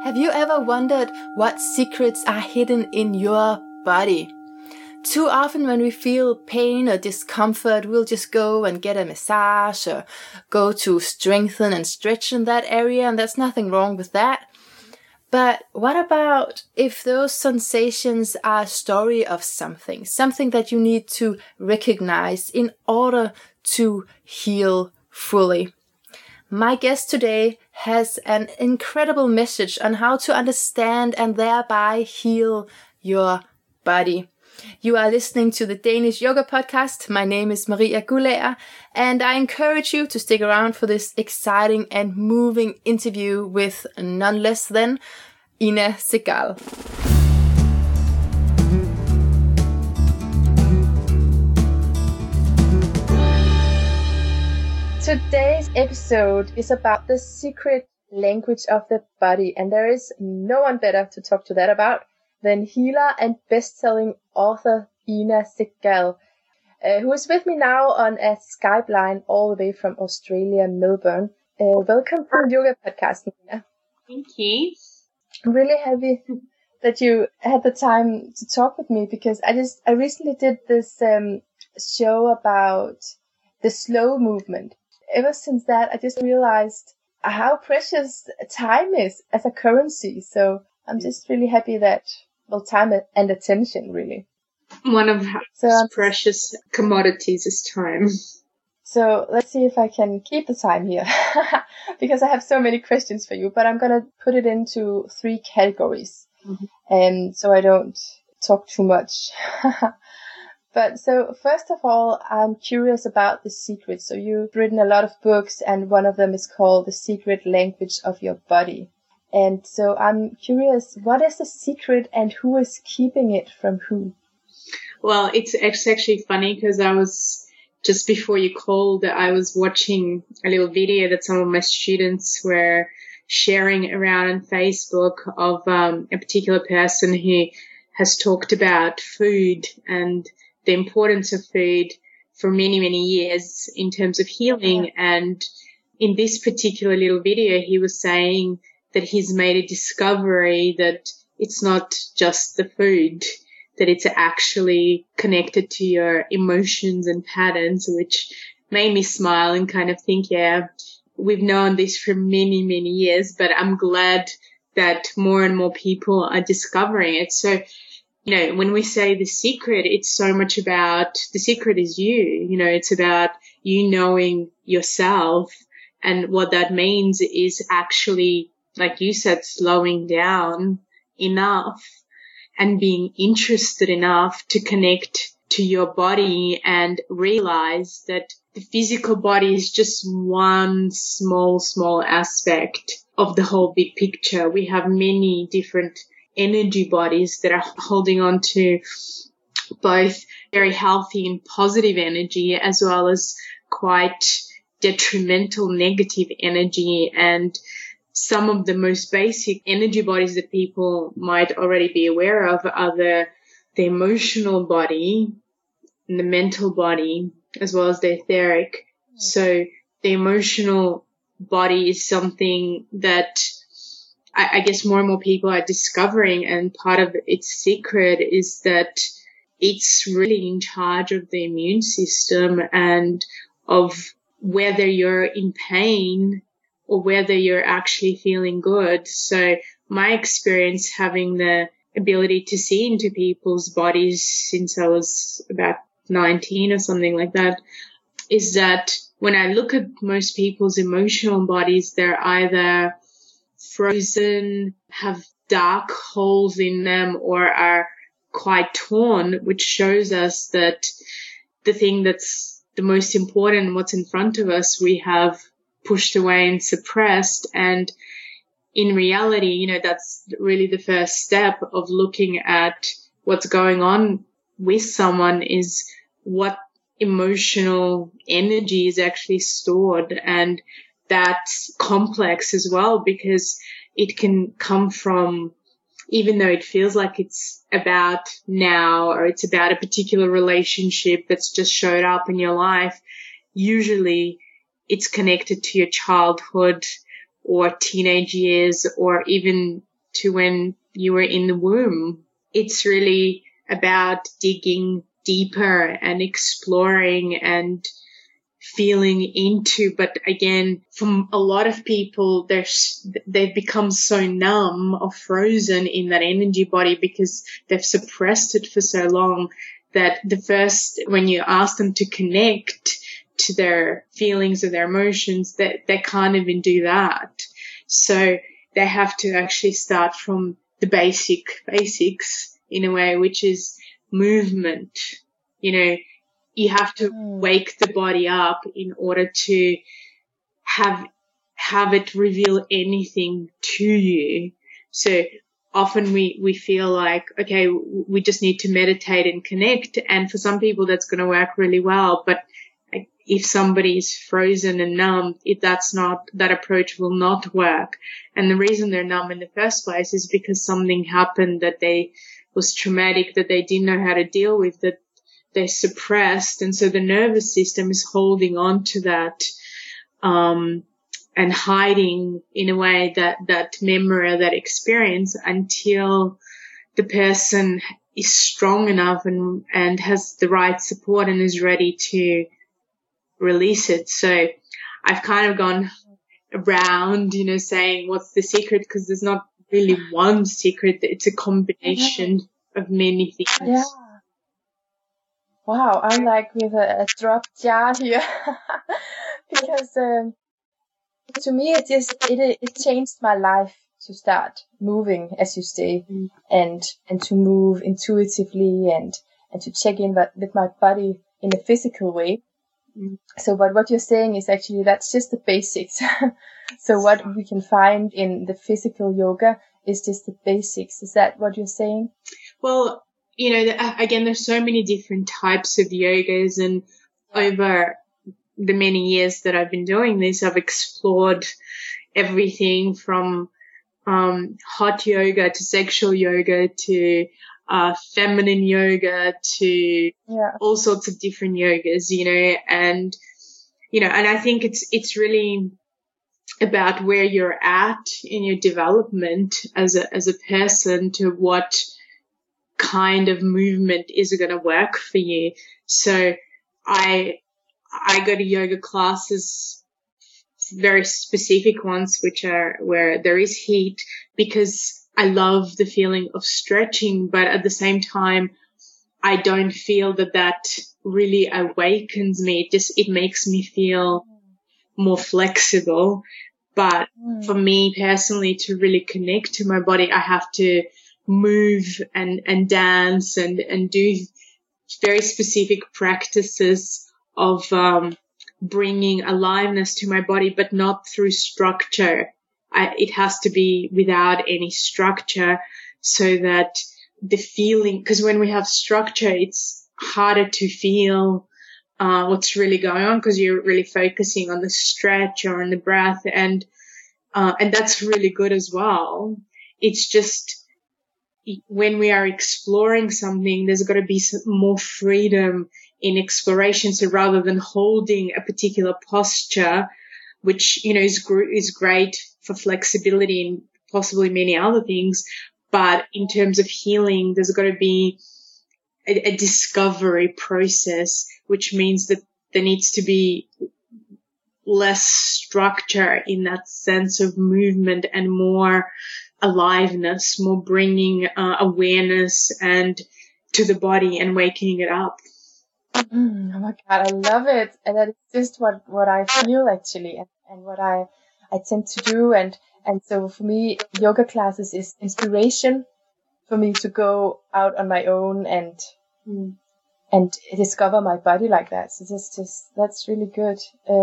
Have you ever wondered what secrets are hidden in your body? Too often when we feel pain or discomfort, we'll just go and get a massage or go to strengthen and stretch in that area, and there's nothing wrong with that. But what about if those sensations are a story of something that you need to recognize in order to heal fully? My guest today has an incredible message on how to understand and thereby heal your body. You are listening to the Danish Yoga Podcast. My name is Maria Gulager, and I encourage you to stick around for this exciting and moving interview with none less than Ina Segal. Today's episode is about the secret language of the body, and there is no one better to talk to that about than healer and best-selling author Ina Segal, who is with me now on a Skype line all the way from Australia, Melbourne. Welcome to the Yoga Podcast, Ina. Thank you. I'm really happy that you had the time to talk with me, because I recently did this show about the slow movement. Ever since that, I just realized how precious time is as a currency. So I'm just really happy that, time and attention, really. One of the precious commodities is time. So let's see if I can keep the time here, because I have so many questions for you, but I'm going to put it into 3 categories, and so I don't talk too much. But so first of all, I'm curious about the secret. So you've written a lot of books, and one of them is called The Secret Language of Your Body. And so I'm curious, what is the secret and who is keeping it from who? Well, it's actually funny, because I was, just before you called, I was watching a little video that some of my students were sharing around on Facebook of a particular person who has talked about food and the importance of food for many, many years in terms of healing. And in this particular little video, he was saying that he's made a discovery that it's not just the food, that it's actually connected to your emotions and patterns, which made me smile and kind of think, yeah, we've known this for many, many years, but I'm glad that more and more people are discovering it. So, when we say the secret, it's so much about the secret is you. It's about you knowing yourself. And what that means is actually, like you said, slowing down enough and being interested enough to connect to your body and realize that the physical body is just one small aspect of the whole big picture. We have many different energy bodies that are holding on to both very healthy and positive energy, as well as quite detrimental negative energy. And some of the most basic energy bodies that people might already be aware of are the emotional body and the mental body, as well as the etheric. So the emotional body is something that I guess more and more people are discovering, and part of its secret is that it's really in charge of the immune system and of whether you're in pain or whether you're actually feeling good. So my experience having the ability to see into people's bodies since I was about 19 or something like that is that when I look at most people's emotional bodies, they're either frozen, have dark holes in them, or are quite torn, which shows us that the thing that's the most important, what's in front of us, we have pushed away and suppressed. And in reality, that's really the first step of looking at what's going on with someone, is what emotional energy is actually stored. And that's complex as well, because it can come from, even though it feels like it's about now or it's about a particular relationship that's just showed up in your life, usually it's connected to your childhood or teenage years or even to when you were in the womb. It's really about digging deeper and exploring and feeling into. But again, from a lot of people, they've become so numb or frozen in that energy body because they've suppressed it for so long that when you ask them to connect to their feelings or their emotions, that they can't even do that. So they have to actually start from the basics in a way, which is movement. You have to wake the body up in order to have it reveal anything to you. So often we feel like, okay, we just need to meditate and connect. And for some people that's going to work really well. But if somebody is frozen and numb, that approach will not work. And the reason they're numb in the first place is because something happened that was traumatic, that they didn't know how to deal with, that they suppressed. And so the nervous system is holding on to that, and hiding in a way that memory or that experience until the person is strong enough and has the right support and is ready to release it. So I've kind of gone around, saying what's the secret, because there's not really one secret. It's a combination of many things. Yeah. Wow, I'm like with a drop jar here because to me it changed my life to start moving, as you say, and to move intuitively and to check in with my body in a physical way. So, but what you're saying is actually that's just the basics. So what we can find in the physical yoga is just the basics. Is that what you're saying? Well, again, there's so many different types of yogas, and over the many years that I've been doing this, I've explored everything from hot yoga to sexual yoga to feminine yoga to all sorts of different yogas, and I think it's really about where you're at in your development as a person, to what kind of movement is going to work for you. So I go to yoga classes, very specific ones, which are where there is heat, because I love the feeling of stretching, but at the same time, I don't feel that really awakens me. It makes me feel more flexible. But for me personally, to really connect to my body, I have to move and dance and do very specific practices of bringing aliveness to my body, but not through structure. It has to be without any structure, so that the feeling, because when we have structure, it's harder to feel what's really going on, because you're really focusing on the stretch or on the breath, and that's really good as well. It's just when we are exploring something, there's got to be some more freedom in exploration. So rather than holding a particular posture, which, is great for flexibility and possibly many other things, but in terms of healing, there's got to be a discovery process, which means that there needs to be less structure in that sense of movement and more aliveness, more bringing awareness and to the body and waking it up. Oh my God, I love it. And that is just what I feel actually, and what I tend to do. And so for me, yoga classes is inspiration for me to go out on my own and discover my body like that. So that's really good.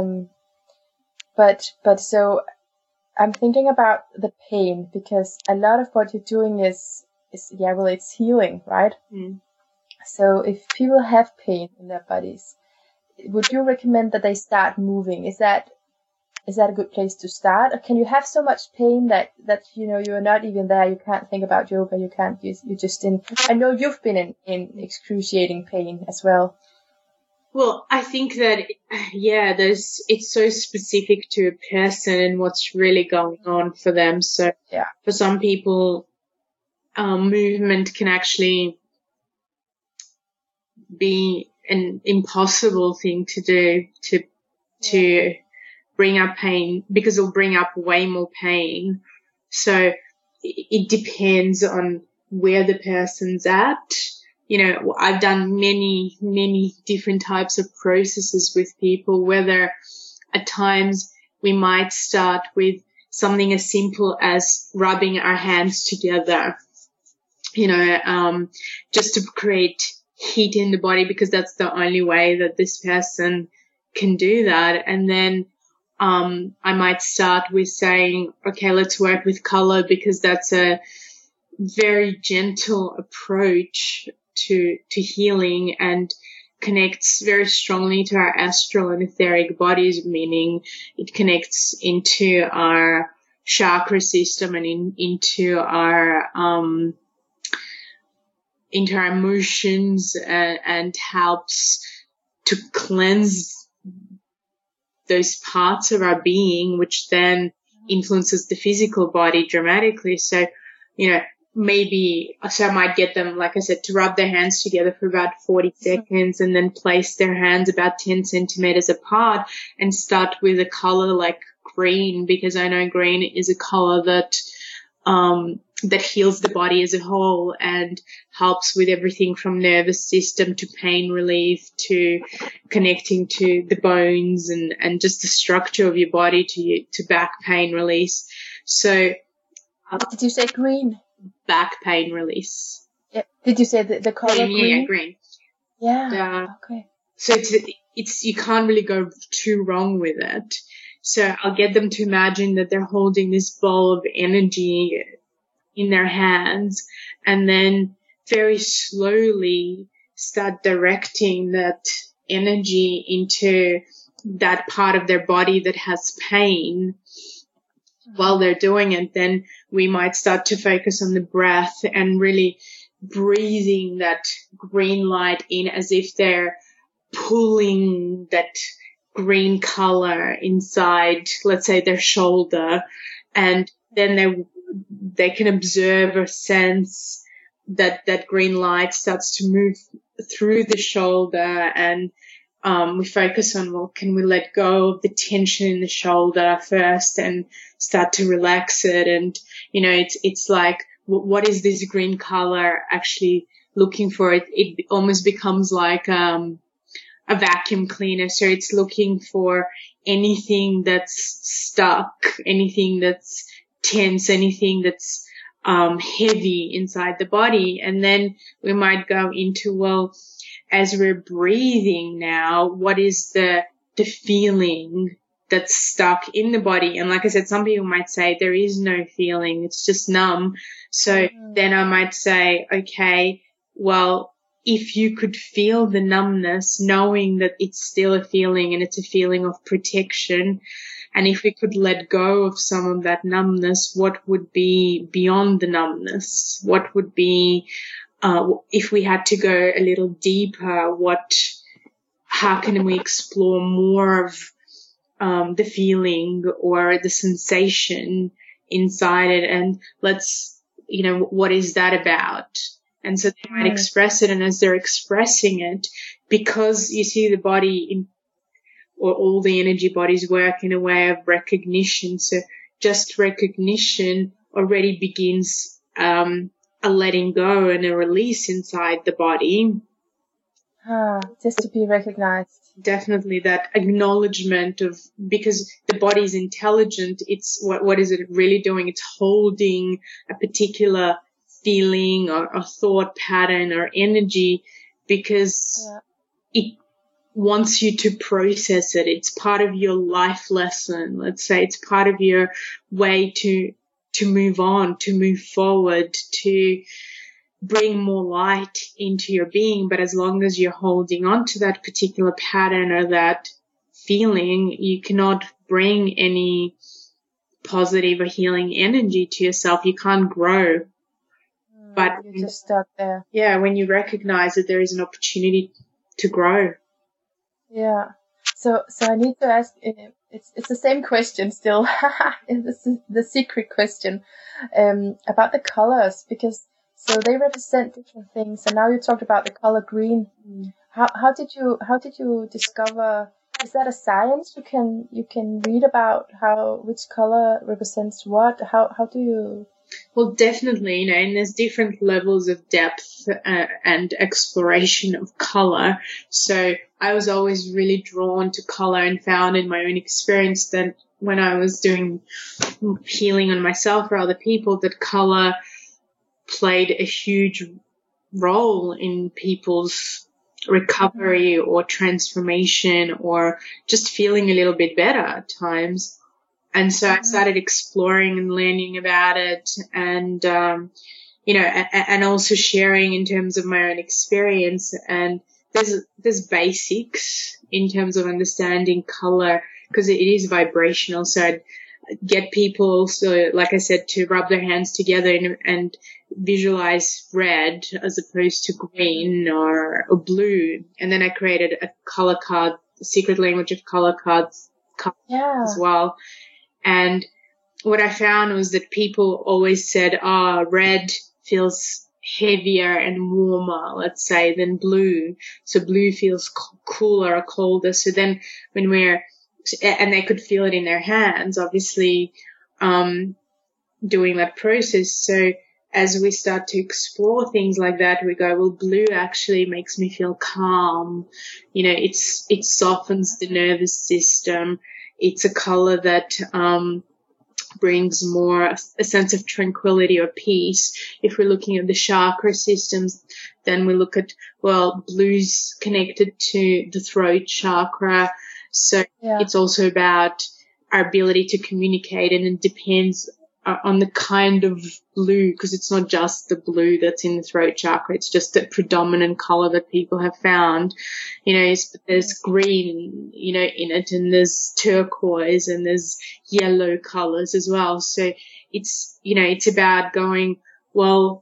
But so I'm thinking about the pain, because a lot of what you're doing is it's healing, right? So if people have pain in their bodies, would you recommend that they start moving? Is that a good place to start? Or can you have so much pain that you're not even there, you can't think about yoga, you're just in, I know you've been in excruciating pain as well. Well, I think that, yeah, it's so specific to a person and what's really going on for them. So Yeah. for some people, movement can actually be an impossible thing to do to bring up pain, because it'll bring up way more pain. So it depends on where the person's at. You know, I've done many, many different types of processes with people, whether at times we might start with something as simple as rubbing our hands together, you know, just to create heat in the body, because that's the only way that this person can do that. And then I might start with saying, okay, let's work with color, because that's a very gentle approach to healing and connects very strongly to our astral and etheric bodies, meaning it connects into our chakra system and into our emotions, and helps to cleanse those parts of our being, which then influences the physical body dramatically. So, you know, so I might get them, like I said, to rub their hands together for about 40 seconds and then place their hands about 10 centimeters apart and start with a color like green, because I know green is a color that heals the body as a whole and helps with everything from nervous system to pain relief to connecting to the bones and just the structure of your body to back pain release. So, did you say green? Back pain release. Yeah. Did you say the color green? Yeah, green. Yeah. Okay. So it's you can't really go too wrong with it. So I'll get them to imagine that they're holding this ball of energy in their hands, and then very slowly start directing that energy into that part of their body that has pain. While they're doing it, then we might start to focus on the breath and really breathing that green light in as if they're pulling that green color inside, let's say, their shoulder, and then they can observe or sense that green light starts to move through the shoulder, and we focus on, well, can we let go of the tension in the shoulder first and start to relax it? And, you know, it's like, what is this green color actually looking for? It almost becomes like a vacuum cleaner. So it's looking for anything that's stuck, anything that's tense, anything that's heavy inside the body. And then we might go into, well, as we're breathing now, what is the feeling that's stuck in the body? And like I said, some people might say there is no feeling, it's just numb. So then I might say, okay, well, if you could feel the numbness, knowing that it's still a feeling and it's a feeling of protection, and if we could let go of some of that numbness, what would be beyond the numbness? What would be, if we had to go a little deeper, how can we explore more of the feeling or the sensation inside it? And what is that about? And so they might express it, and as they're expressing it, because you see the body or all the energy bodies work in a way of recognition. So just recognition already begins a letting go and a release inside the body. Just to be recognized. Definitely that acknowledgement of, because the body is intelligent, it's what is it really doing? It's holding a particular feeling or thought pattern or energy because it wants you to process it. It's part of your life lesson. Let's say it's part of your way to move on, to move forward, to bring more light into your being. But as long as you're holding on to that particular pattern or that feeling, you cannot bring any positive or healing energy to yourself. You can't grow. But you're just stuck there. Yeah, when you recognize that there is an opportunity to grow. Yeah. So I need to ask. It's the same question still. This is the secret question about the colors, because so they represent different things. And now you talked about the color green. How did you discover? Is that a science you can read about which color represents what? How do you? Well, definitely, and there's different levels of depth and exploration of color. So I was always really drawn to color and found in my own experience that when I was doing healing on myself or other people, that color played a huge role in people's recovery or transformation or just feeling a little bit better at times. And so I started exploring and learning about it and, and also sharing in terms of my own experience. And there's basics in terms of understanding color because it is vibrational. So I'd get people, so like I said, to rub their hands together and visualize red as opposed to green or blue. And then I created a color card, a secret language of color cards as well. And what I found was that people always said, red feels heavier and warmer, let's say, than blue. So blue feels cooler or colder. So then when and they could feel it in their hands, obviously, doing that process. So as we start to explore things like that, we go, well, blue actually makes me feel calm. It softens the nervous system. It's a color that brings more a sense of tranquility or peace. If we're looking at the chakra systems, then we look at, blue's connected to the throat chakra. So it's also about our ability to communicate, and it depends on the kind of blue, because it's not just the blue that's in the throat chakra. It's just the predominant color that people have found. There's green, in it, and there's turquoise and there's yellow colors as well. So it's about going, when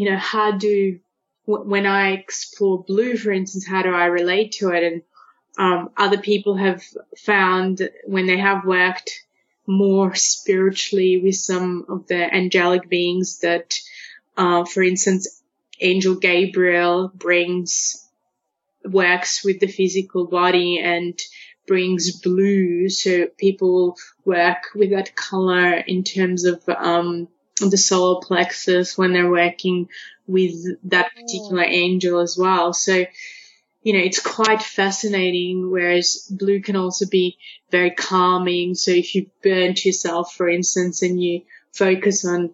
I explore blue, for instance, how do I relate to it? And other people have found when they have worked more spiritually with some of the angelic beings that, for instance, Angel Gabriel works with the physical body and brings blue. So people work with that color in terms of, the solar plexus when they're working with that particular angel as well. So, it's quite fascinating, whereas blue can also be very calming. So if you've burnt yourself, for instance, and you focus on,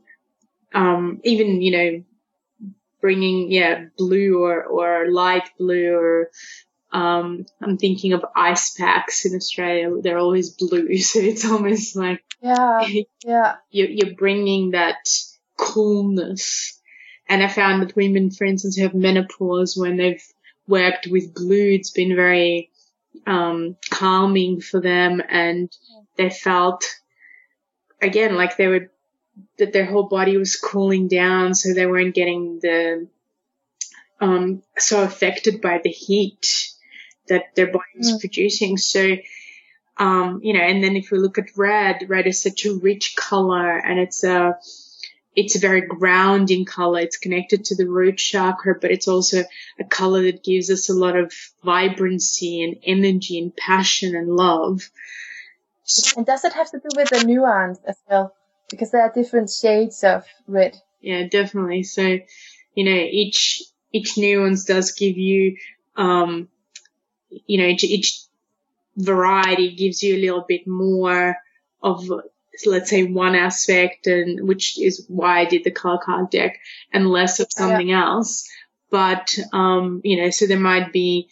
even, bringing, blue or light blue or, I'm thinking of ice packs in Australia. They're always blue. So it's almost like, you're bringing that coolness. And I found that women, for instance, who have menopause, when they've worked with blue, it's been very calming for them, and they felt again like that their whole body was cooling down, so they weren't getting the so affected by the heat that their body was producing. So and then if we look at red is such a rich color, and it's a very grounding color. It's connected to the root chakra, but it's also a color that gives us a lot of vibrancy and energy and passion and love. And does it have to do with the nuance as well? Because there are different shades of red. Yeah, definitely. So, each nuance does give you, each variety gives you a little bit more of, let's say, one aspect, and which is why I did the color card deck, and less of something else. But, so there might be,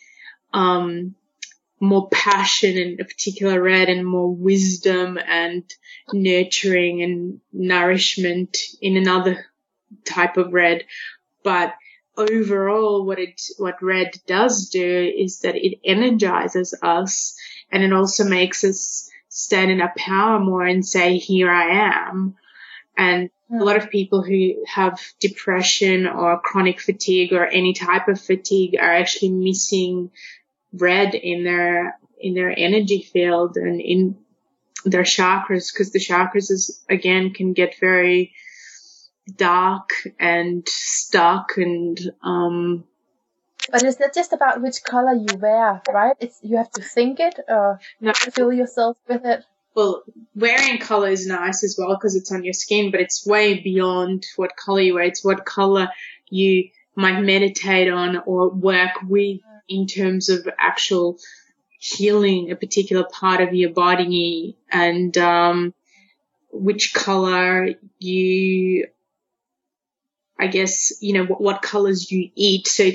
more passion in a particular red and more wisdom and nurturing and nourishment in another type of red. But overall, what red does do is that it energizes us, and it also makes us stand in our power more and say, here I am. And a lot of people who have depression or chronic fatigue or any type of fatigue are actually missing red in their energy field and in their chakras, because the chakras can get very dark and stuck and but it's not just about which color you wear, right? You have to think it or fill yourself with it. Well, wearing color is nice as well because it's on your skin, but it's way beyond what color you wear. It's what color you might meditate on or work with in terms of actual healing a particular part of your body, and which color you, I guess, what colors you eat. So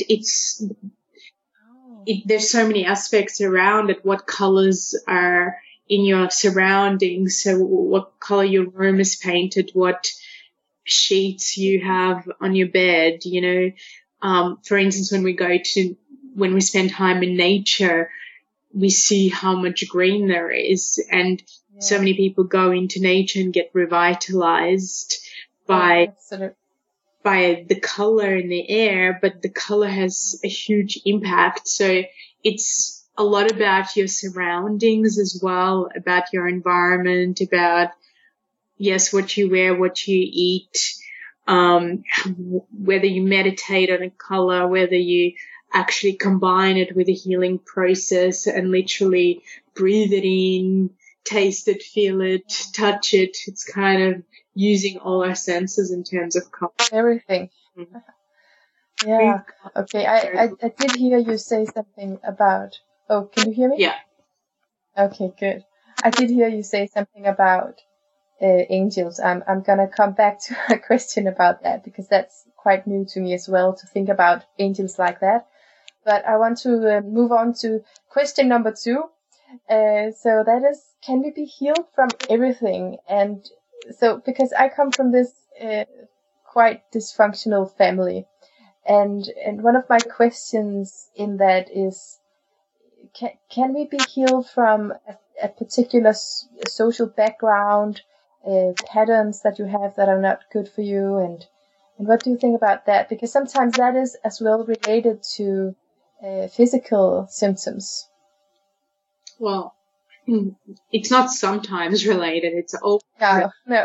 there's so many aspects around it. What colors are in your surroundings? So what color your room is painted, what sheets you have on your bed, for instance, when we spend time in nature, we see how much green there is, and so many people go into nature and get revitalized by the color in the air, but the color has a huge impact. So it's a lot about your surroundings as well, about your environment, about, yes, what you wear, what you eat, whether you meditate on a color, whether you actually combine it with a healing process and literally breathe it in, taste it, feel it, touch it. It's kind of using all our senses in terms of color. Everything. Mm-hmm. Yeah. Okay. I did hear you say something about, oh, can you hear me? Yeah. Okay, good. I did hear you say something about angels. I'm gonna come back to a question about that because that's quite new to me as well, to think about angels like that. But I want to move on to question number 2. So that is, can we be healed from everything? And so, because I come from this quite dysfunctional family, and one of my questions in that is, can we be healed from a particular social background, patterns that you have that are not good for you, and what do you think about that? Because sometimes that is as well related to physical symptoms. Well, it's not sometimes related. It's always no.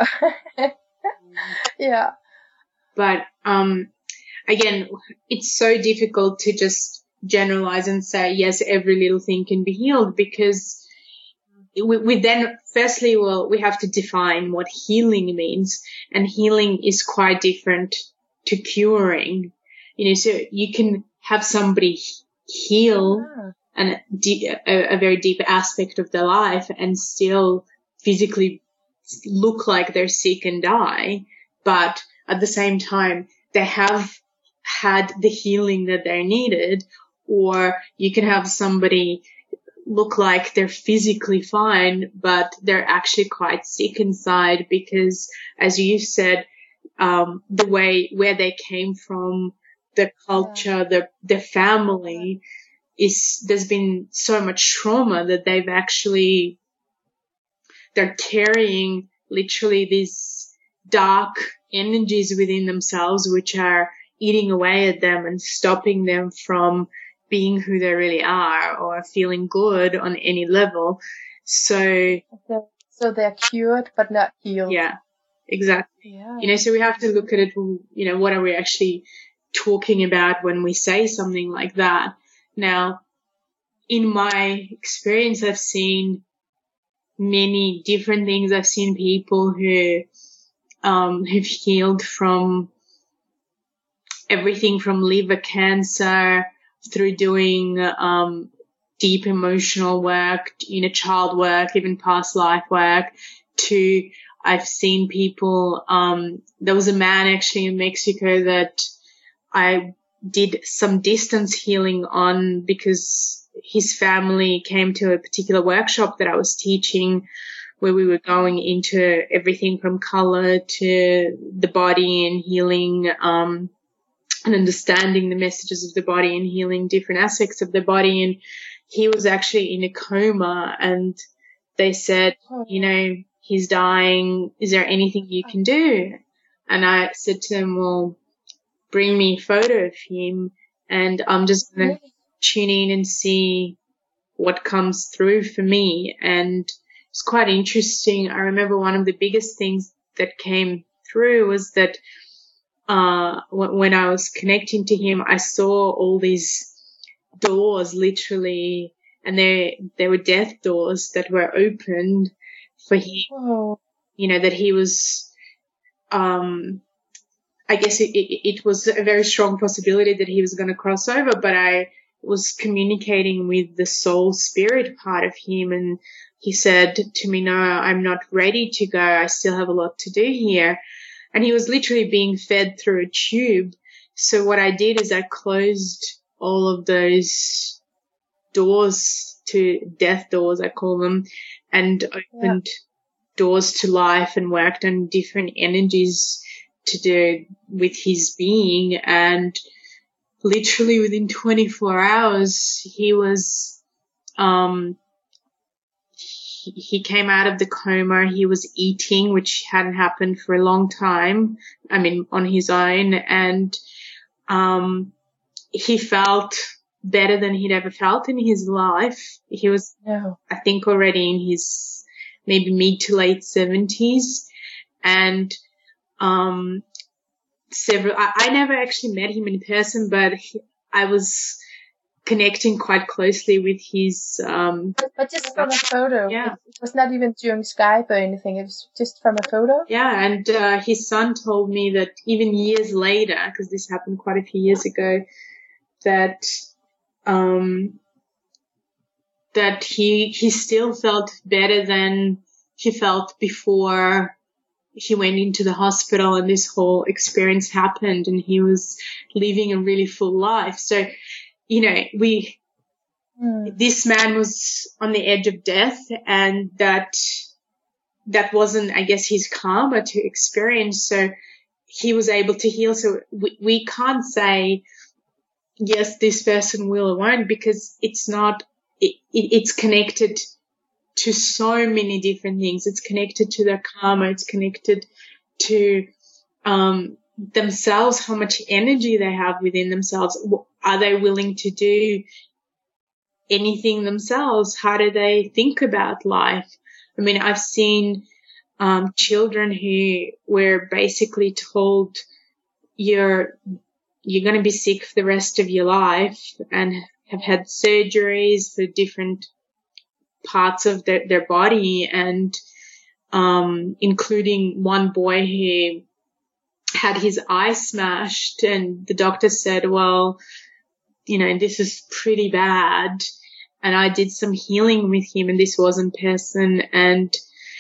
Yeah. But again, it's so difficult to just generalize and say, yes, every little thing can be healed, because we then, firstly, we have to define what healing means, and healing is quite different to curing. So you can have somebody heal a very deep aspect of their life and still physically look like they're sick and die, but at the same time they have had the healing that they needed. Or you can have somebody look like they're physically fine, but they're actually quite sick inside because, as you said, where they came from, the culture, the family, there's been so much trauma that they're carrying literally these dark energies within themselves, which are eating away at them and stopping them from being who they really are or feeling good on any level. So they're cured but not healed. Yeah, exactly. Yeah. So we have to look at it, what are we actually talking about when we say something like that? Now, in my experience, I've seen many different things. I've seen people who who've healed from everything from liver cancer through doing deep emotional work, inner child work, even past life work, to I've seen people, there was a man actually in Mexico that I did some distance healing on because his family came to a particular workshop that I was teaching, where we were going into everything from color to the body and healing, and understanding the messages of the body and healing different aspects of the body. And he was actually in a coma, and they said, he's dying. Is there anything you can do? And I said to them, well, bring me a photo of him, and I'm just going to tune in and see what comes through for me. And it's quite interesting. I remember one of the biggest things that came through was that when I was connecting to him, I saw all these doors literally, and they were death doors that were opened for him. Oh. You know, that he was, I guess it was a very strong possibility that he was going to cross over, but I was communicating with the soul spirit part of him, and he said to me, no, I'm not ready to go. I still have a lot to do here. And he was literally being fed through a tube. So what I did is I closed all of those doors to death doors, I call them, and opened doors to life and worked on different energies to do with his being. And literally within 24 hours, he was, he came out of the coma. He was eating, which hadn't happened for a long time. I mean, on his own. And, he felt better than he'd ever felt in his life. He was, I think, already in his maybe mid to late 70s. And, I never actually met him in person, but I was connecting quite closely with his, but just from a photo. Yeah. It was not even during Skype or anything. It was just from a photo. Yeah. And, his son told me that even years later, because this happened quite a few years ago, that, that he still felt better than he felt before he went into the hospital and this whole experience happened, and he was living a really full life. So, you know, this man was on the edge of death, and that wasn't, I guess, his karma to experience. So he was able to heal. So we can't say, yes, this person will or won't, because it's not, it's connected to so many different things. It's connected to their karma. It's connected to, themselves, how much energy they have within themselves. Are they willing to do anything themselves? How do they think about life? I mean, I've seen, children who were basically told you're going to be sick for the rest of your life, and have had surgeries for different parts of their body, and including one boy who had his eye smashed, and the doctor said, well, you know, this is pretty bad. And I did some healing with him, and this was in person, and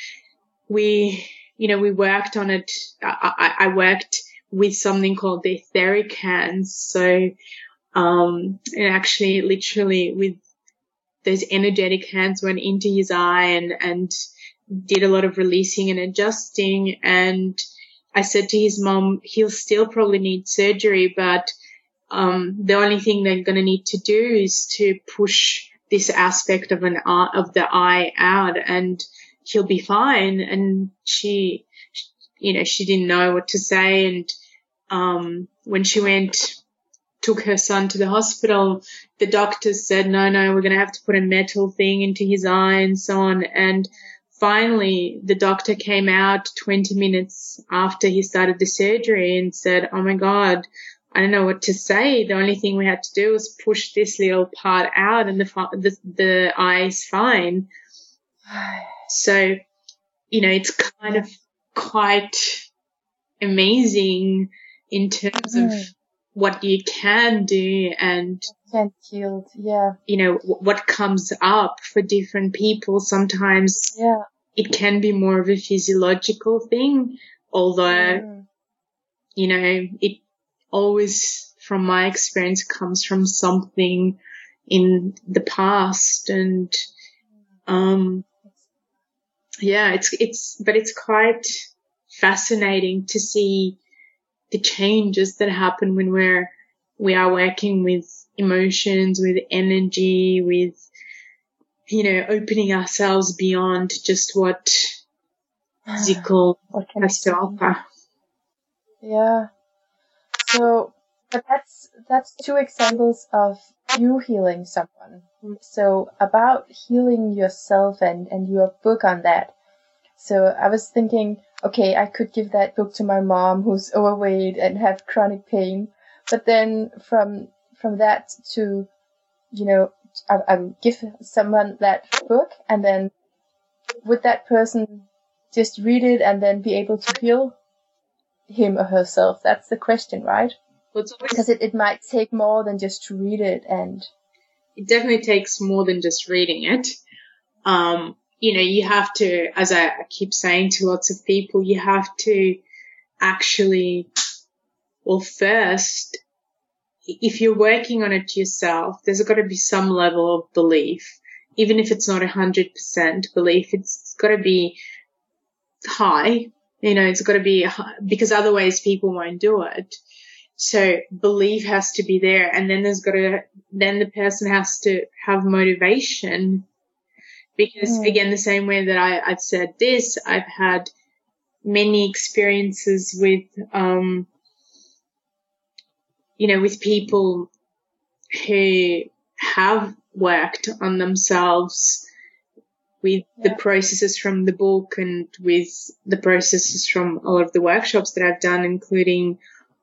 we worked on it. I worked with something called the etheric hands. So, and actually literally with those energetic hands went into his eye and did a lot of releasing and adjusting. And I said to his mom, he'll still probably need surgery, but, the only thing they're going to need to do is to push this aspect of the eye out, and he'll be fine. And she didn't know what to say. And, when she took her son to the hospital, the doctors said, no, we're going to have to put a metal thing into his eye and so on. And finally, the doctor came out 20 minutes after he started the surgery and said, oh my God, I don't know what to say. The only thing we had to do was push this little part out, and the eye is fine. So, you know, it's kind of quite amazing in terms of what you can do and heal, yeah. You know, what comes up for different people. Sometimes it can be more of a physiological thing, although, you know, it always, from my experience, comes from something in the past. And, it's quite fascinating to see the changes that happen when we are working with emotions, with energy, with, you know, opening ourselves beyond just what physical has to offer. Yeah. So But that's two examples of you healing someone. So about healing yourself and your book on that. So I was thinking, okay, I could give that book to my mom who's overweight and have chronic pain. But then from that to, I give someone that book, and then would that person just read it and then be able to heal him or herself? That's the question, right? Because it might take more than just to read it, and it definitely takes more than just reading it. You have to, as I keep saying to lots of people, you have to actually, well, first, if you're working on it yourself, there's got to be some level of belief. Even if it's not 100% belief, it's got to be high. It's got to be high, because otherwise people won't do it. So belief has to be there, and then then the person has to have motivation. Because again, the same way that I've said this, I've had many experiences with, with people who have worked on themselves with the processes from the book and with the processes from all of the workshops that I've done, including,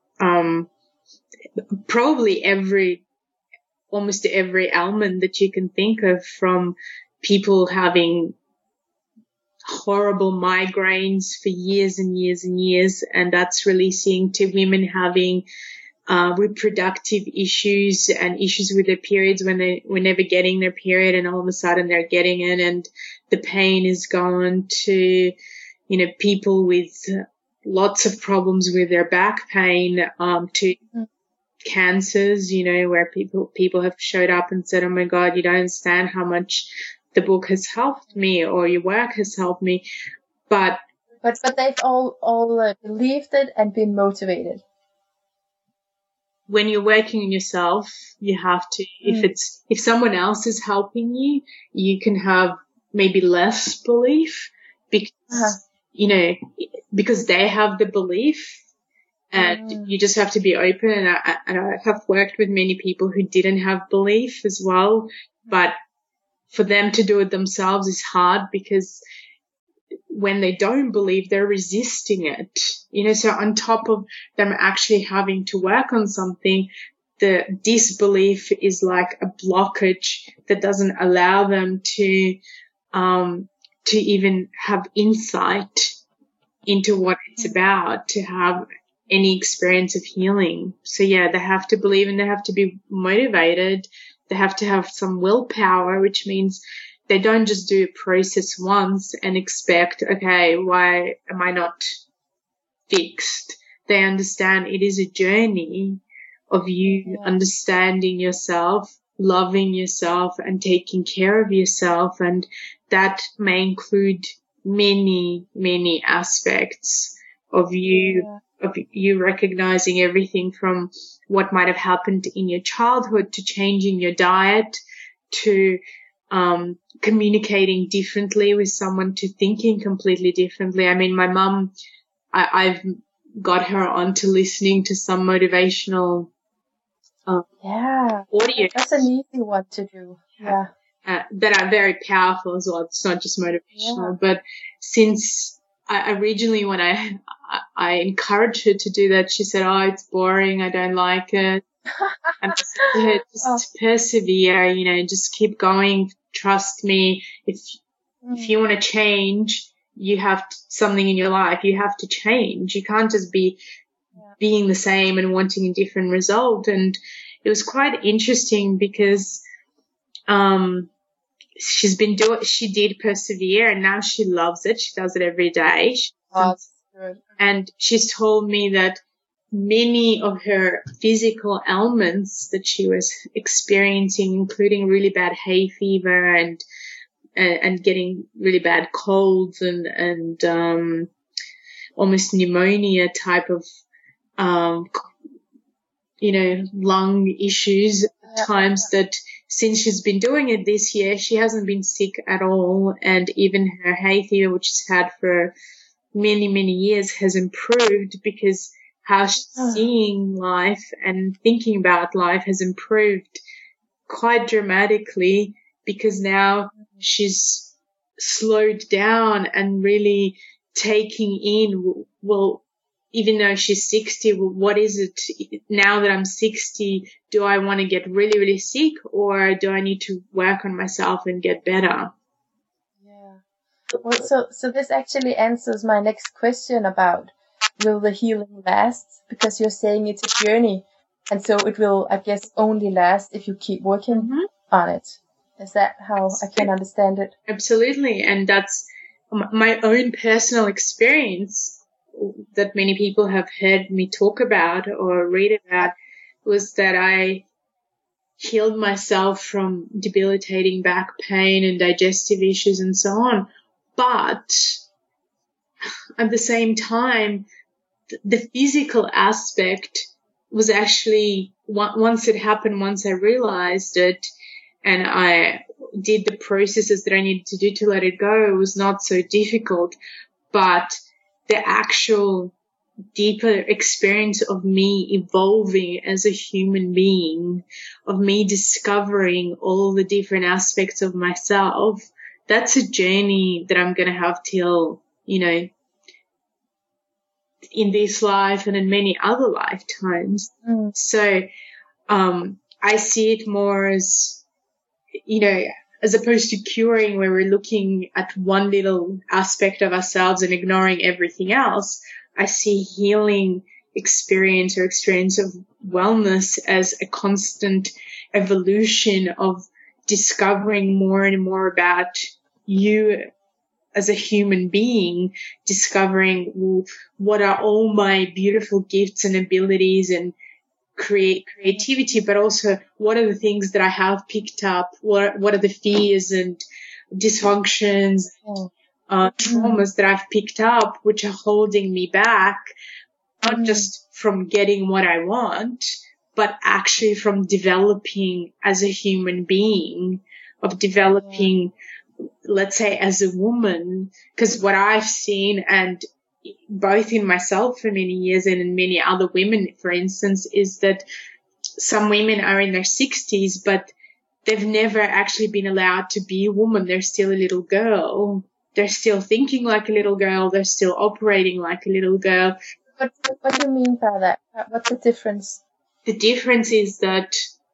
probably almost every ailment that you can think of, from people having horrible migraines for years and years and years, and that's releasing, to women having reproductive issues and issues with their periods when they were never getting their period, and all of a sudden they're getting it and the pain is gone, to, people with lots of problems with their back pain, to cancers, where people have showed up and said, oh my God, you don't understand how much the book has helped me, or your work has helped me. But they've all believed it and been motivated. When you're working on yourself, you have to, if someone else is helping you, you can have maybe less belief because, because they have the belief, and you just have to be open. And I have worked with many people who didn't have belief as well, but for them to do it themselves is hard, because when they don't believe, they're resisting it. So on top of them actually having to work on something, the disbelief is like a blockage that doesn't allow them to even have insight into what it's about, to have any experience of healing. So yeah, they have to believe, and they have to be motivated. They have to have some willpower, which means they don't just do a process once and expect, okay, why am I not fixed? They understand it is a journey of you understanding yourself, loving yourself, and taking care of yourself. And that may include many, many aspects of you, of you recognizing everything from what might have happened in your childhood, to changing your diet, to communicating differently with someone, to thinking completely differently. I mean, my mum, I've got her onto listening to some motivational audio. That's an easy one to do. Yeah. That are very powerful as well. It's not just motivational, but since I originally, when I encouraged her to do that, she said, oh, it's boring, I don't like it. And I said to her, just persevere, just keep going, trust me. If you want to change, you have something in your life, you have to change. You can't just be being the same and wanting a different result. And it was quite interesting because she did persevere, and now she loves it. She does it every day. That's good. And she's told me that many of her physical ailments that she was experiencing, including really bad hay fever and getting really bad colds and almost pneumonia type of lung issues at times, that since she's been doing it this year, she hasn't been sick at all. And even her hay fever, which she's had for many, many years, has improved because how she's seeing life and thinking about life has improved quite dramatically, because now she's slowed down and really taking in, well, even though she's 60, well, what is it now that I'm 60? Do I want to get really, really sick, or do I need to work on myself and get better? Yeah. Well, so this actually answers my next question about, will the healing last? Because you're saying it's a journey, and so it will, I guess, only last if you keep working on it. Is that how I can understand it? Absolutely. And that's my own personal experience that many people have heard me talk about or read about, was that I healed myself from debilitating back pain and digestive issues and so on. But at the same time, the physical aspect was actually, once it happened, once I realized it and I did the processes that I needed to do to let it go, it was not so difficult. But the actual deeper experience of me evolving as a human being, of me discovering all the different aspects of myself, that's a journey that I'm going to have till, you know, in this life and in many other lifetimes. So I see it more as, you know, as opposed to curing, where we're looking at one little aspect of ourselves and ignoring everything else. I see healing experience or experience of wellness as a constant evolution of discovering more and more about you as a human being, discovering, well, what are all my beautiful gifts and abilities and creativity, but also what are the things that I have picked up, what are the fears and dysfunctions, traumas that I've picked up, which are holding me back, not just from getting what I want, but actually from developing as a human being, of developing, let's say, as a woman. Because what I've seen, and both in myself for many years and in many other women, for instance, is that some women are in their 60s, but they've never actually been allowed to be a woman. They're still a little girl. They're still thinking like a little girl. They're still operating like a little girl. What do you mean by that? What's the difference? The difference is that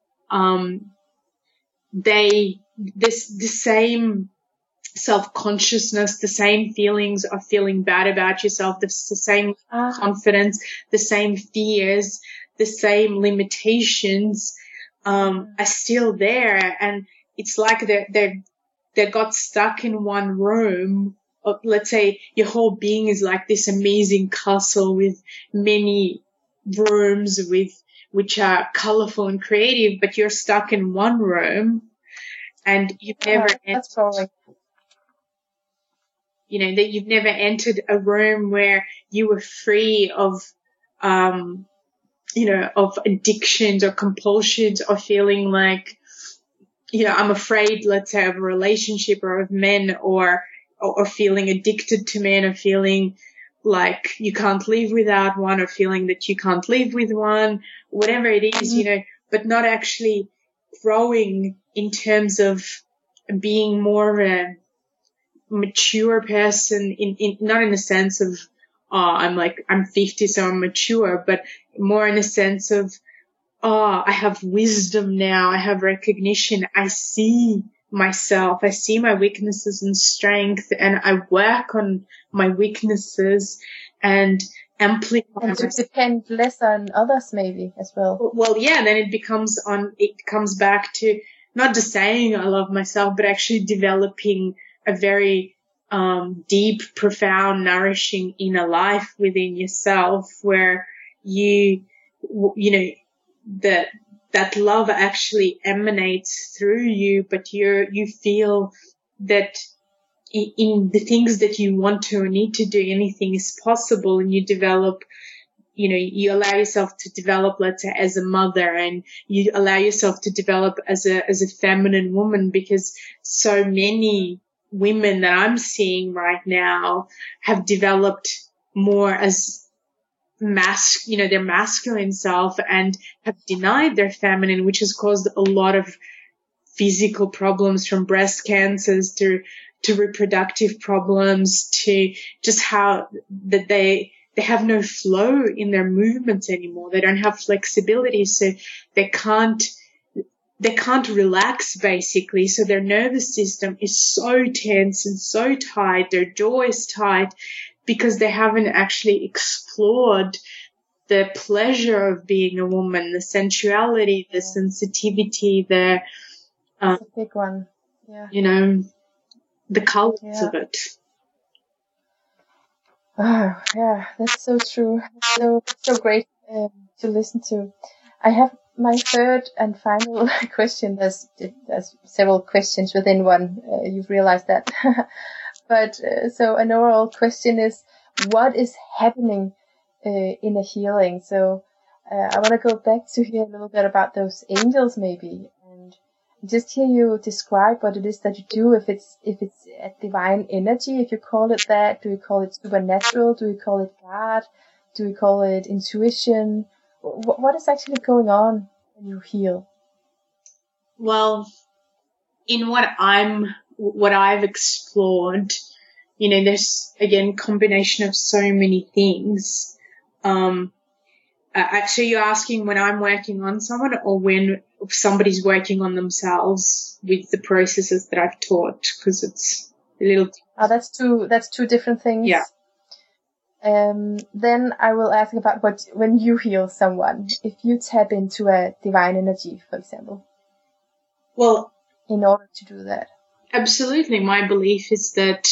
the same self-consciousness, the same feelings of feeling bad about yourself, the same confidence, the same fears, the same limitations are still there. And it's like they got stuck in one room. Let's say your whole being is like this amazing castle with many rooms which are colorful and creative, but you're stuck in one room and you've never that you've never entered a room where you were free of of addictions or compulsions, or feeling like, I'm afraid, let's say, of a relationship or of men, or feeling addicted to men, or feeling like you can't live without one, or feeling that you can't live with one, whatever it is, but not actually growing in terms of being more of a mature person, in not in the sense of, I'm 50, so I'm mature, but more in the sense of, I have wisdom now, I have recognition, I see myself, I see my weaknesses and strength, and I work on my weaknesses and amplify. And to depend less on others, maybe, as well. Well, yeah, then it comes back to not just saying I love myself, but actually developing a very deep, profound, nourishing inner life within yourself, where that love actually emanates through you, but you feel that in the things that you want to or need to do, anything is possible, and you develop, you allow yourself to develop, let's say, as a mother, and you allow yourself to develop as a feminine woman, because so many women that I'm seeing right now have developed more as their masculine self and have denied their feminine, which has caused a lot of physical problems, from breast cancers to reproductive problems, to just how that they have no flow in their movements anymore. They don't have flexibility, so they can't relax, basically. So their nervous system is so tense and so tight. Their jaw is tight because they haven't actually explored the pleasure of being a woman, the sensuality, the sensitivity, That's a big one. Yeah. The colors of it. Oh, yeah, that's so true. So great to listen to. I have my third and final question. There's several questions within one. You've realized that. But so an overall question is, what is happening in a healing? So I want to go back to hear a little bit about those angels, maybe, and just hear you describe what it is that you do. If it's a divine energy, if you call it that, do you call it supernatural? Do you call it God? Do you call it intuition? What is actually going on when you heal? Well, in what I've explored, there's, again, combination of so many things. Actually, you're asking when I'm working on someone or when somebody's working on themselves with the processes that I've taught, because it's a little. That's two different things. Yeah. Then I will ask about when you heal someone, if you tap into a divine energy, for example. Well, in order to do that. Absolutely. My belief is that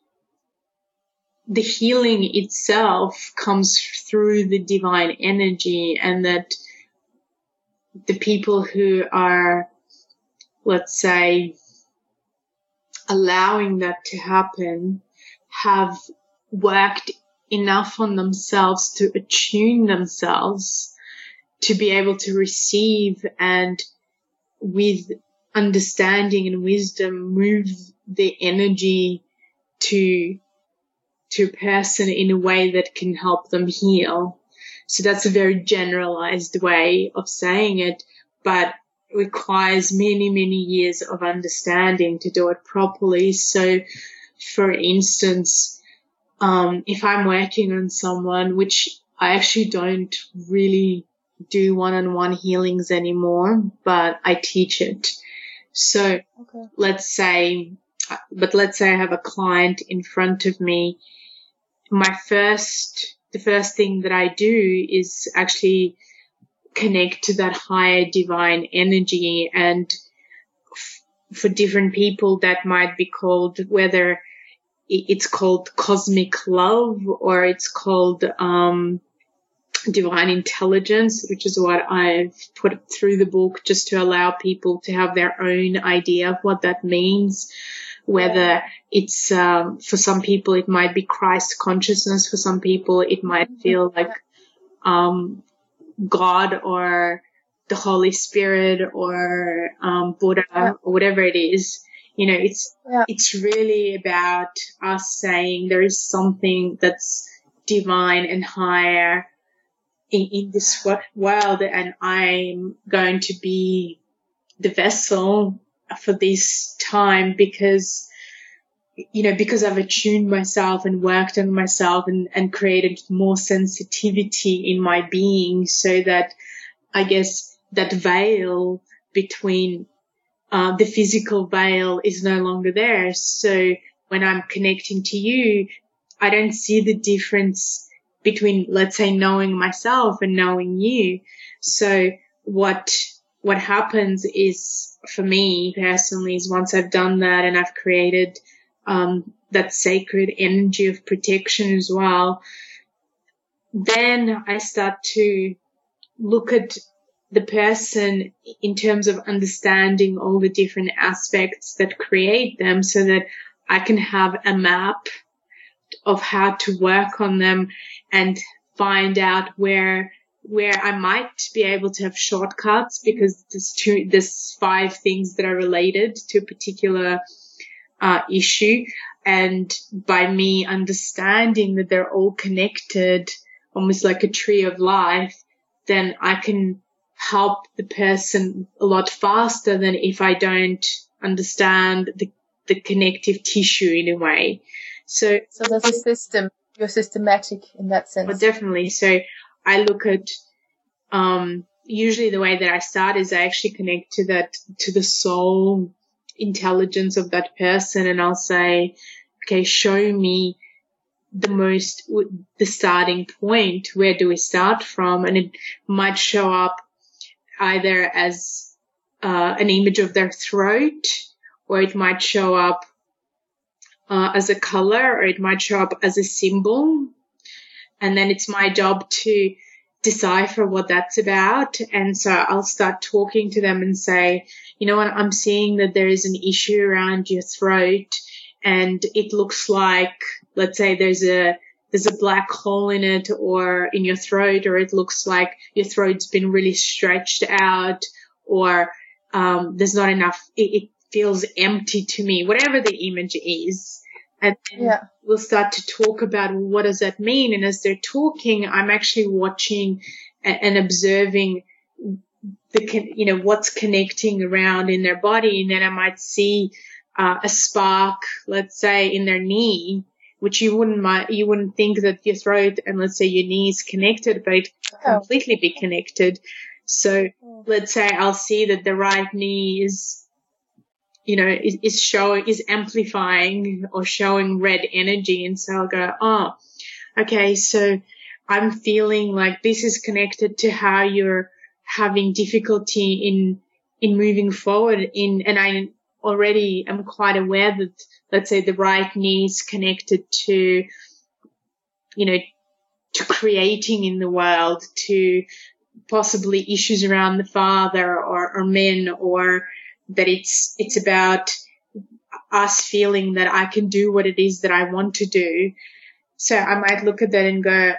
the healing itself comes through the divine energy, and that the people who are, let's say, allowing that to happen have worked enough on themselves to attune themselves to be able to receive, and with understanding and wisdom move the energy to a person in a way that can help them heal. So that's a very generalized way of saying it, but requires many, many years of understanding to do it properly. So, for instance, if I'm working on someone, which I actually don't really do one-on-one healings anymore, but I teach it. So let's say I have a client in front of me. The first thing that I do is actually connect to that higher divine energy, and for different people that might be called, whether it's called cosmic love or it's called divine intelligence, which is what I've put through the book just to allow people to have their own idea of what that means. Whether it's, for some people, it might be Christ consciousness. For some people, it might feel like, God or the Holy Spirit or, Buddha or whatever it is. It's really about us saying there is something that's divine and higher in this world, and I'm going to be the vessel for this time because I've attuned myself and worked on myself and created more sensitivity in my being, so that I guess that veil between the physical veil is no longer there. So when I'm connecting to you, I don't see the difference between, let's say, knowing myself and knowing you. So what happens is, for me personally, is once I've done that and I've created that sacred energy of protection as well, then I start to look at the person in terms of understanding all the different aspects that create them, so that I can have a map of how to work on them and find out where I might be able to have shortcuts, because there's 5 things that are related to a particular issue. And by me understanding that they're all connected, almost like a tree of life, then I can help the person a lot faster than if I don't understand the connective tissue in a way. So there's a system. You're systematic in that sense. Well, definitely. So I look at, usually the way that I start is I actually connect to the soul intelligence of that person, and I'll say, okay, show me the starting point. Where do we start from? And it might show up either as an image of their throat, or it might show up as a color, or it might show up as a symbol. And then it's my job to decipher what that's about. And so I'll start talking to them and say, you know what, I'm seeing that there is an issue around your throat, and it looks like, let's say there's a black hole in it or in your throat, or it looks like your throat's been really stretched out, or there's not enough, it feels empty to me, whatever the image is. And then we'll start to talk about, well, what does that mean? And as they're talking, I'm actually watching and observing what's connecting around in their body. And then I might see a spark, let's say, in their knee, which you wouldn't think that your throat and, let's say, your knee is connected, but it can completely be connected. So let's say I'll see that the right knee is amplifying or showing red energy. And so I'll go, oh, okay, so I'm feeling like this is connected to how you're having difficulty in moving forward and I already am quite aware that, let's say, the right knee is connected to, to creating in the world, to possibly issues around the father or men, or that it's about us feeling that I can do what it is that I want to do. So I might look at that and go,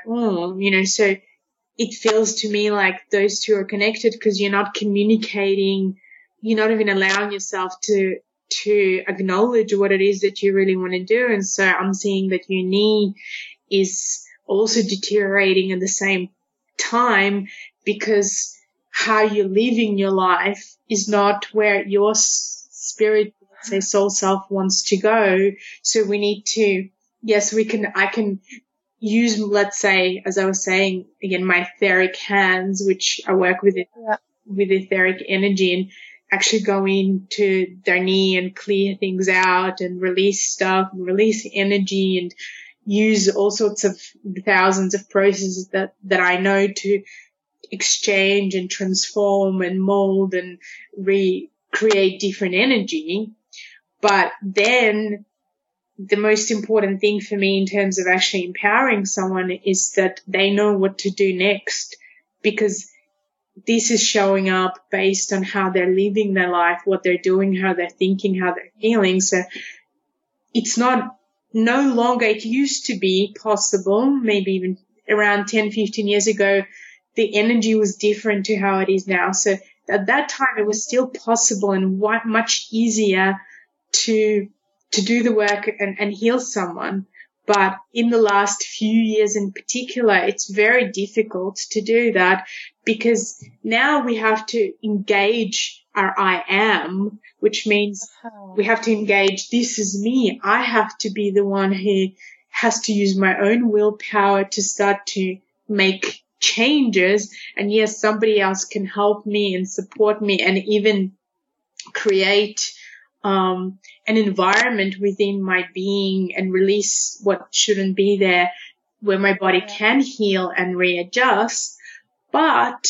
so it feels to me like those two are connected because you're not communicating, you're not even allowing yourself to acknowledge what it is that you really want to do. And so I'm seeing that your knee is also deteriorating at the same time because how you're living your life is not where your spirit, say soul self, wants to go. So we need to, I can use, let's say, as I was saying, again, my etheric hands, which I work with with etheric energy, and actually go into their knee and clear things out and release stuff and release energy and use all sorts of thousands of processes that I know to exchange and transform and mold and recreate different energy. But then the most important thing for me in terms of actually empowering someone is that they know what to do next, because this is showing up based on how they're living their life, what they're doing, how they're thinking, how they're feeling. So it's no longer, it used to be possible, maybe even around 10, 15 years ago, the energy was different to how it is now. So at that time, it was still possible and much easier to do the work and heal someone. But in the last few years in particular, it's very difficult to do that because now we have to engage our I am, which means we have to engage, this is me. I have to be the one who has to use my own willpower to start to make changes. And yes, somebody else can help me and support me and even create an environment within my being and release what shouldn't be there, where my body can heal and readjust. But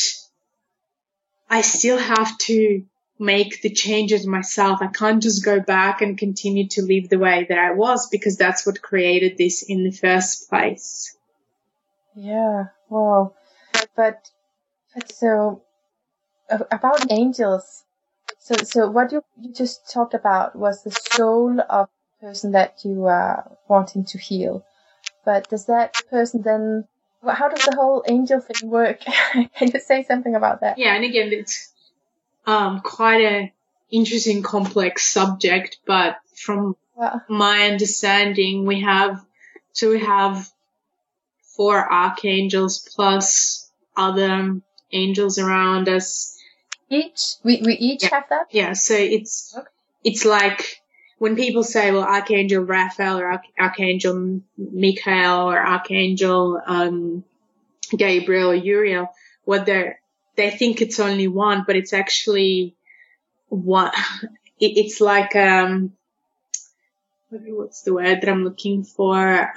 I still have to make the changes myself. I can't just go back and continue to live the way that I was, because that's what created this in the first place. Yeah, wow. But so about angels. So what you just talked about was the soul of the person that you are wanting to heal. But does that person then, how does the whole angel thing work? Can you say something about that? Yeah, and again, it's quite an interesting, complex subject. But from my understanding, we have 4 archangels plus other angels around us. We each have that? Yeah, so it's like when people say, well, Archangel Raphael or Archangel Michael or Archangel Gabriel or Uriel, what they think it's only one, but it's actually one. It's like what's the word that I'm looking for?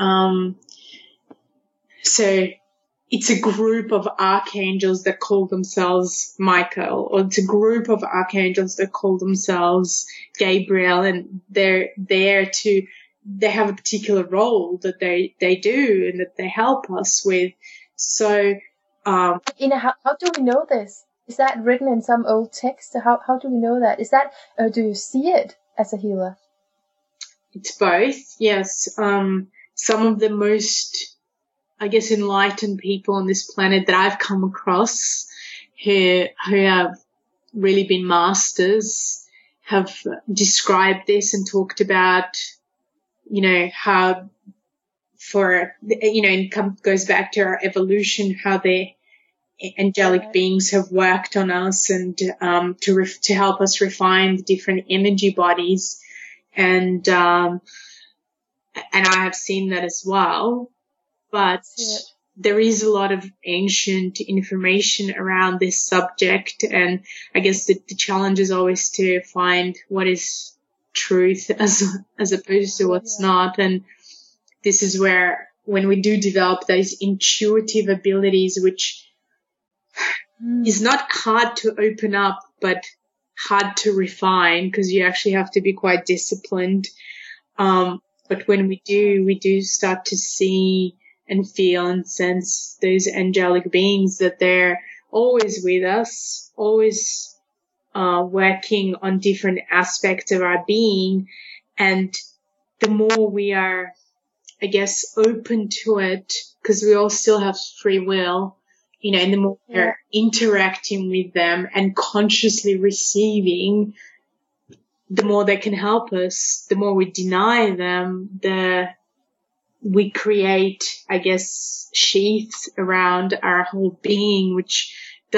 So it's a group of archangels that call themselves Michael, or it's a group of archangels that call themselves Gabriel, and they're there they have a particular role that they do and that they help us with. So, how do we know this? Is that written in some old text? How do we know that? Is that, do you see it as a healer? It's both, yes. Some of the most, I guess, enlightened people on this planet that I've come across who have really been masters have described this and talked about, how goes back to our evolution, how the angelic beings have worked on us and to help us refine the different energy bodies. And I have seen that as well. But there is a lot of ancient information around this subject, and I guess the challenge is always to find what is truth as opposed to what's not. And this is where, when we do develop those intuitive abilities, which is not hard to open up, but hard to refine, because you actually have to be quite disciplined. But when we do start to see and feel and sense those angelic beings, that they're always with us, always working on different aspects of our being. And the more we are, I guess, open to it, because we all still have free will, and the more we're interacting with them and consciously receiving, the more they can help us. The more we deny them, we create, I guess, sheaths around our whole being, which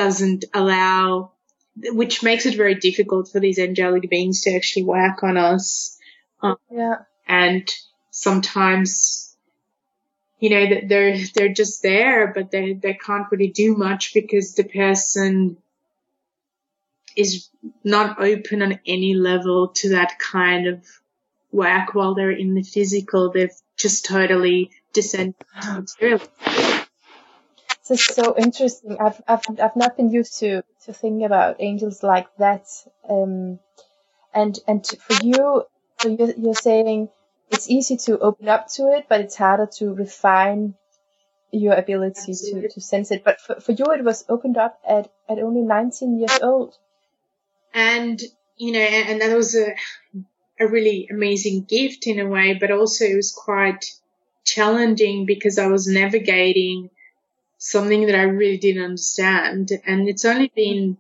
makes it very difficult for these angelic beings to actually work on us. And sometimes, they're just there, but they can't really do much because the person is not open on any level to that kind of work while they're in the physical. They've just totally descended to material. This is so interesting. I've not been used to think about angels like that. And for you, so you're saying it's easy to open up to it, but it's harder to refine your ability to sense it. But for you, it was opened up at only 19 years old. And, and that was a really amazing gift in a way, but also it was quite challenging because I was navigating something that I really didn't understand. And it's only been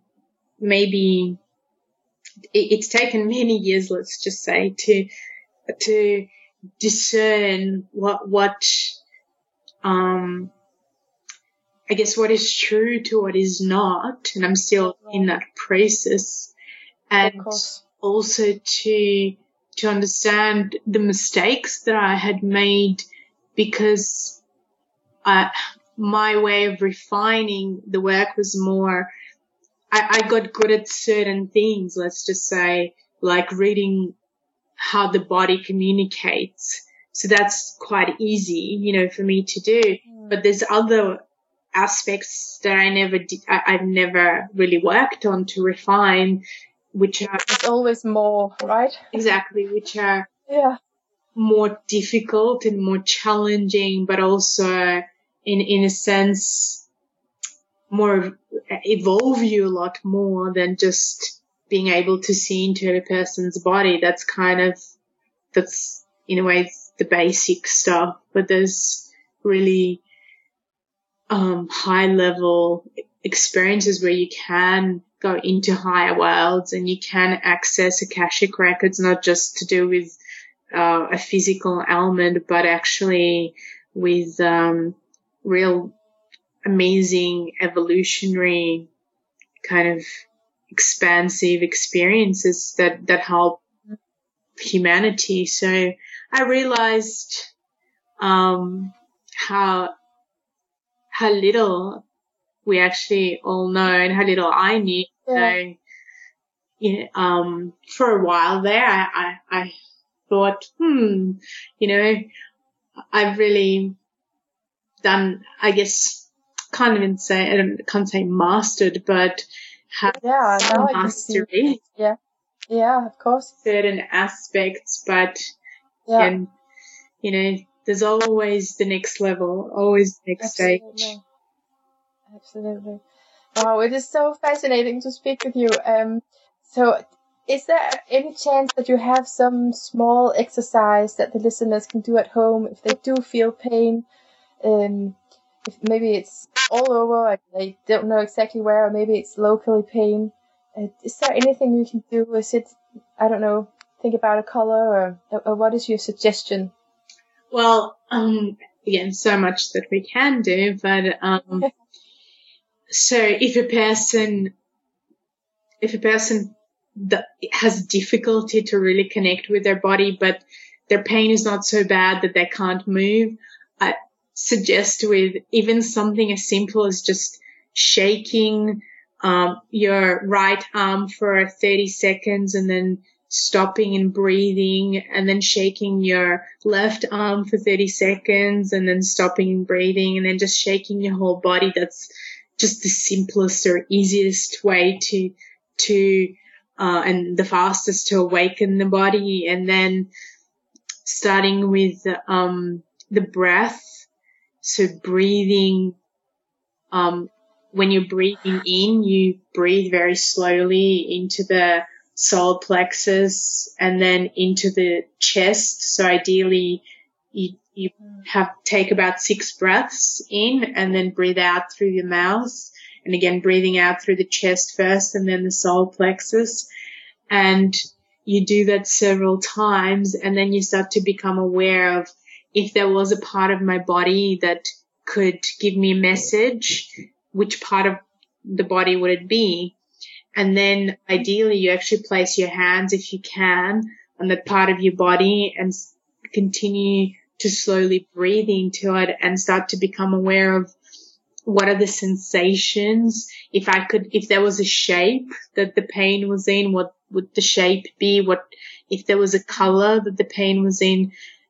it's taken many years, let's just say, to discern what I guess what is true to what is not. And I'm still in that process. And also to understand the mistakes that I had made, because my way of refining the work was more, I got good at certain things, let's just say, like reading how the body communicates. So that's quite easy, for me to do. But there's other aspects that I've never really worked on to refine, which are... It's always more, right? Exactly, which are more difficult and more challenging, but also in a sense more evolve you a lot more than just being able to see into a person's body. That's in a way the basic stuff, but there's really high level experiences where you can go into higher worlds and you can access Akashic records, not just to do with a physical element, but actually with real amazing evolutionary kind of expansive experiences that help humanity. So I realized how little we actually all know, and how little I knew. So, for a while there, I thought, I've really done, I guess, can't say mastered, but have some mastery. Yeah, of course. Certain aspects, but and there's always the next level, always the next stage. Absolutely. Wow, it is so fascinating to speak with you. So is there any chance that you have some small exercise that the listeners can do at home if they do feel pain? If maybe it's all over, and they don't know exactly where, or maybe it's locally pain. Is there anything you can do? Is it, I don't know, think about a color, or what is your suggestion? Well, again, so much that we can do, but so if a person that has difficulty to really connect with their body, but their pain is not so bad that they can't move, I suggest with even something as simple as just shaking your right arm for 30 seconds and then stopping and breathing, and then shaking your left arm for 30 seconds and then stopping and breathing, and then just shaking your whole body. That's just the simplest or easiest way to and the fastest to awaken the body. And then starting with the breath. So breathing, when you're breathing in, you breathe very slowly into the solar plexus and then into the chest. So ideally you take about 6 breaths in and then breathe out through your mouth. And again, breathing out through the chest first and then the solar plexus. And you do that several times, and then you start to become aware of if there was a part of my body that could give me a message, which part of the body would it be? And then ideally you actually place your hands, if you can, on that part of your body and continue to slowly breathe into it and start to become aware of what are the sensations. If there was a shape that the pain was in, what would the shape be? If there was a color that the pain was in,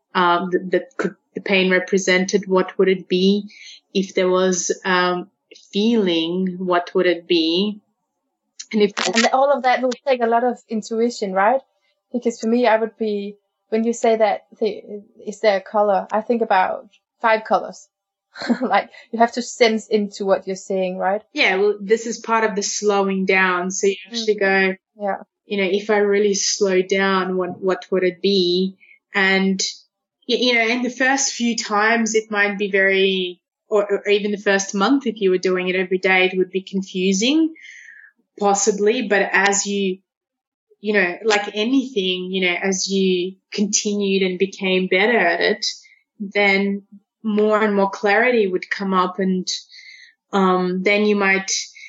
the pain represented, what would it be? If there was feeling, what would it be? And all of that will take a lot of intuition, right? Because for me, I would be, when you say that, is there a color? I think about 5 colors. Like you have to sense into what you're saying, right? Yeah, well, this is part of the slowing down. So you actually go, if I really slow down, what would it be? And, in the first few times it might be very, or even the first month, if you were doing it every day, it would be confusing, possibly. But as you, like anything, as you continued and became better at it, then more and more clarity would come up, and then you might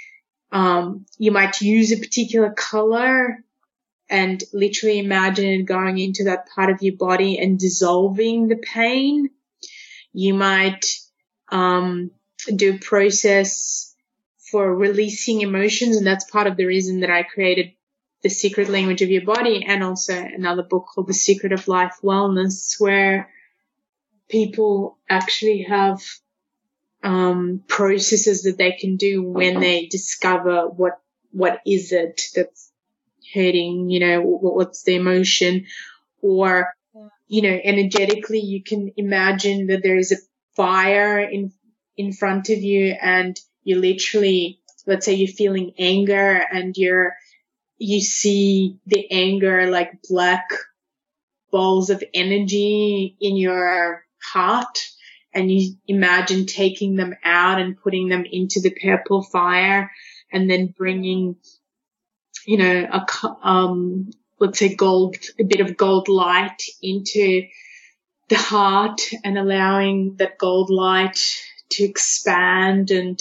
use a particular color and literally imagine it going into that part of your body and dissolving the pain. You might do a process for releasing emotions, and that's part of the reason that I created The Secret Language of Your Body, and also another book called The Secret of Life Wellness, where people actually have processes that they can do when they discover what is it that's hurting, what's the emotion, or energetically you can imagine that there is a fire in front of you, and you literally, let's say you're feeling anger, and you see the anger like black balls of energy in your heart, and you imagine taking them out and putting them into the purple fire, and then bringing, let's say a bit of gold light into the heart, and allowing that gold light to expand and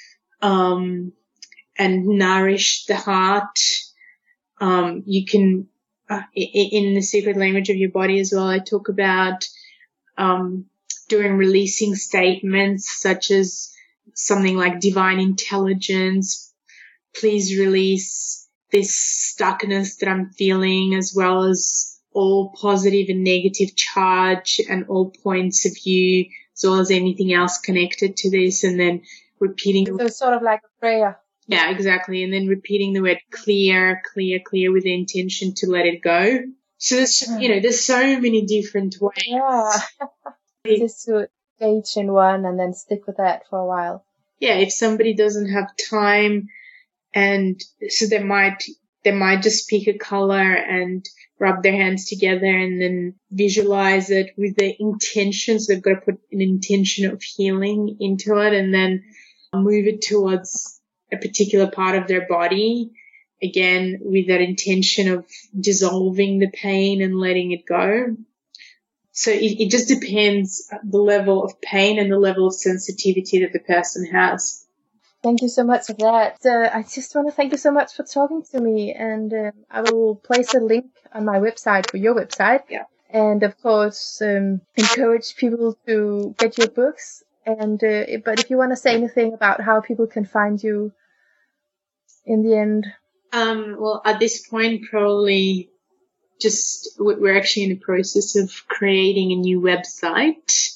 nourish the heart. You can, in the secret language of your body as well, I talk about doing releasing statements such as something like divine intelligence, please release this stuckness that I'm feeling, as well as all positive and negative charge and all points of view, as well as anything else connected to this, and then repeating. So it's sort of like a prayer. Yeah, exactly. And then repeating the word clear, clear, clear with the intention to let it go. So there's so many different ways. Yeah. Just to engage in one and then stick with that for a while. Yeah, if somebody doesn't have time, and so they might just pick a color and rub their hands together and then visualize it with the intention. So they've got to put an intention of healing into it and then move it towards a particular part of their body, again, with that intention of dissolving the pain and letting it go. So it just depends the level of pain and the level of sensitivity that the person has. Thank you so much for that. I just want to thank you so much for talking to me, and I will place a link on my website for your website. Yeah. And of course, encourage people to get your books. And but if you want to say anything about how people can find you in the end. Well, at this point, probably just we're actually in the process of creating a new website.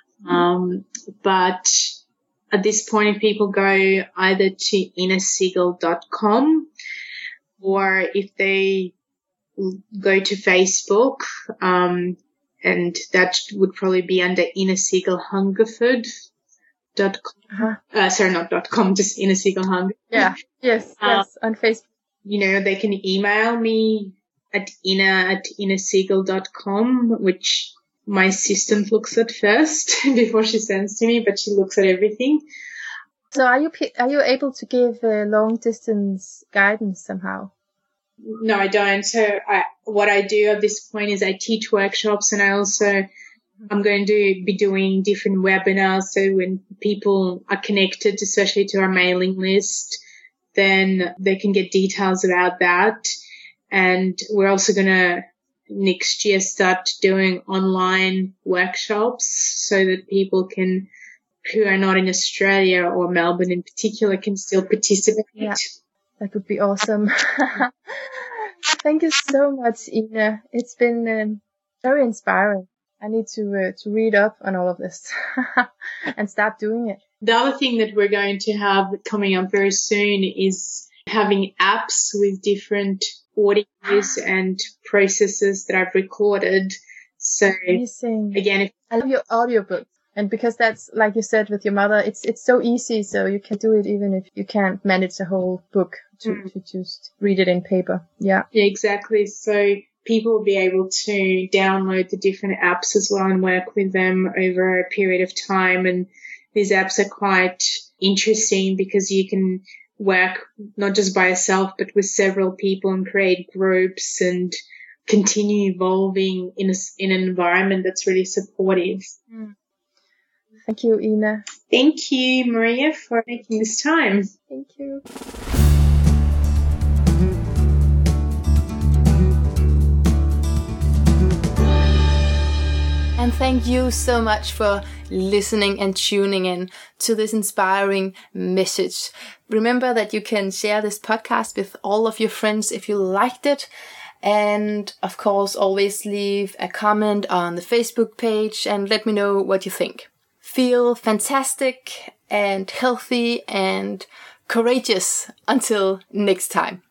But at this point, if people go either to inasiegel.com or if they go to Facebook, and that would probably be under inasiegelhungerford.com. Sorry, not .com, just inasiegelhunger. Yeah. Yes. On Facebook. They can email me at inasiegel.com, which my assistant looks at first before she sends to me, but she looks at everything. So are you able to give long distance guidance somehow? No, I don't. So what I do at this point is I teach workshops, and I'm going to be doing different webinars. So when people are connected, especially to our mailing list, then they can get details about that. And we're also going to next year start doing online workshops so that people who are not in Australia or Melbourne in particular can still participate. Yeah, that would be awesome. Thank you so much, Ina. It's been very inspiring. I need to read up on all of this and start doing it. The other thing that we're going to have coming up very soon is having apps with different audios and processes that I've recorded. So amazing. Again, I love your audiobooks. And because that's, like you said with your mother, it's so easy, so you can do it even if you can't manage a whole book to just read it in paper. Yeah. Yeah, exactly. So people will be able to download the different apps as well and work with them over a period of time. And these apps are quite interesting because you can work not just by yourself, but with several people and create groups and continue evolving in an environment that's really supportive. Thank you, Ina. Thank you, Maria, for making this time. Thank you. And thank you so much for listening and tuning in to this inspiring message. Remember that you can share this podcast with all of your friends if you liked it. And of course, always leave a comment on the Facebook page and let me know what you think. Feel fantastic and healthy and courageous until next time.